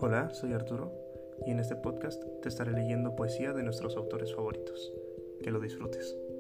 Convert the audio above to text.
Hola, soy Arturo y en este podcast te estaré leyendo poesía de nuestros autores favoritos. Que lo disfrutes.